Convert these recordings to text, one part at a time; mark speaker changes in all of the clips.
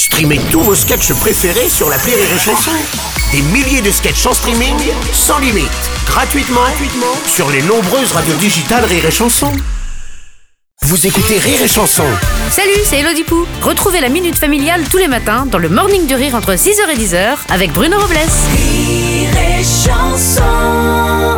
Speaker 1: Streamez tous vos sketchs préférés sur l'appli Rire et Chanson. Des milliers de sketchs en streaming, sans limite, gratuitement sur les nombreuses radios digitales Rire et Chanson. Vous écoutez Rire et Chanson.
Speaker 2: Salut, c'est Elodie Pou. Retrouvez la Minute Familiale tous les matins dans le Morning du Rire entre 6h et 10h avec Bruno Robles.
Speaker 3: Rire et Chanson.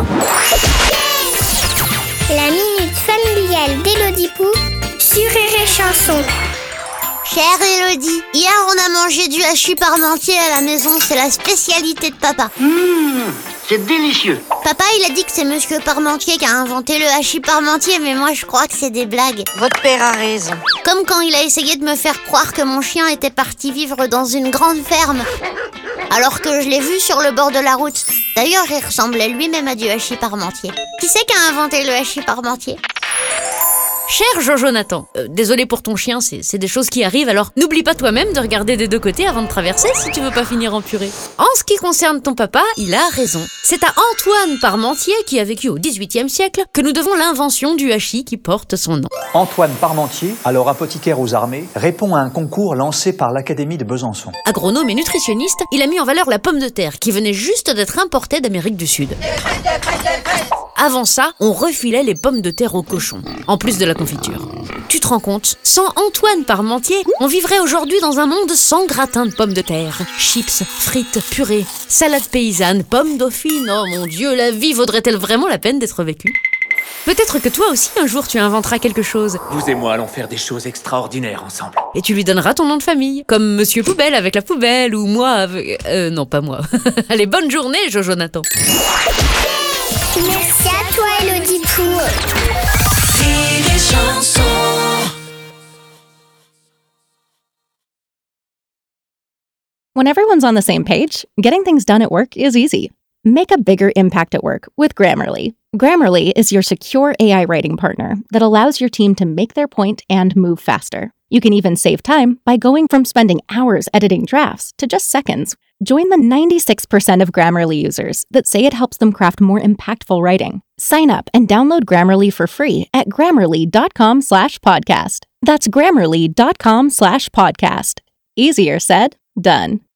Speaker 4: La Minute Familiale d'Elodie Pou sur Rire et Chanson.
Speaker 5: Chère Elodie, hier on a mangé du hachis parmentier à la maison, c'est la spécialité de papa.
Speaker 6: C'est délicieux.
Speaker 5: Papa il a dit que c'est Monsieur Parmentier qui a inventé le hachis parmentier, mais moi je crois que c'est des blagues.
Speaker 7: Votre père a raison.
Speaker 5: Comme quand il a essayé de me faire croire que mon chien était parti vivre dans une grande ferme, alors que je l'ai vu sur le bord de la route. D'ailleurs il ressemblait lui-même à du hachis parmentier. Qui c'est qui a inventé le hachis parmentier ?
Speaker 2: Cher Jojo Nathan, désolé pour ton chien, c'est des choses qui arrivent, alors n'oublie pas toi-même de regarder des deux côtés avant de traverser si tu veux pas finir en purée. En ce qui concerne ton papa, il a raison. C'est à Antoine Parmentier, qui a vécu au XVIIIe siècle, que nous devons l'invention du hachis qui porte son nom.
Speaker 8: Antoine Parmentier, alors apothicaire aux armées, répond à un concours lancé par l'Académie de Besançon.
Speaker 2: Agronome et nutritionniste, il a mis en valeur la pomme de terre qui venait juste d'être importée d'Amérique du Sud. Avant ça, on refilait les pommes de terre aux cochons, en plus de la confiture. Tu te rends compte ? Sans Antoine Parmentier, on vivrait aujourd'hui dans un monde sans gratin de pommes de terre. Chips, frites, purées, salade paysanne, pommes dauphines. Oh mon Dieu, la vie vaudrait-elle vraiment la peine d'être vécue ? Peut-être que toi aussi, un jour, tu inventeras quelque chose.
Speaker 6: Vous et moi allons faire des choses extraordinaires ensemble.
Speaker 2: Et tu lui donneras ton nom de famille. Comme Monsieur Poubelle avec la poubelle, ou moi avec... non, pas moi. Allez, bonne journée, Jojo Nathan.
Speaker 4: Merci à toi, Elodie Pou.
Speaker 3: Rire et Chanson.
Speaker 9: When everyone's on the same page, getting things done at work is easy. Make a bigger impact at work with Grammarly. Grammarly is your secure AI writing partner that allows your team to make their point and move faster. You can even save time by going from spending hours editing drafts to just seconds. Join the 96% of Grammarly users that say it helps them craft more impactful writing. Sign up and download Grammarly for free at Grammarly.com/podcast. That's Grammarly.com/podcast. Easier said, done.